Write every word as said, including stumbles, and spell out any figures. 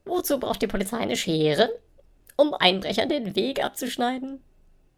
Wozu braucht die Polizei eine Schere? Um Einbrechern den Weg abzuschneiden?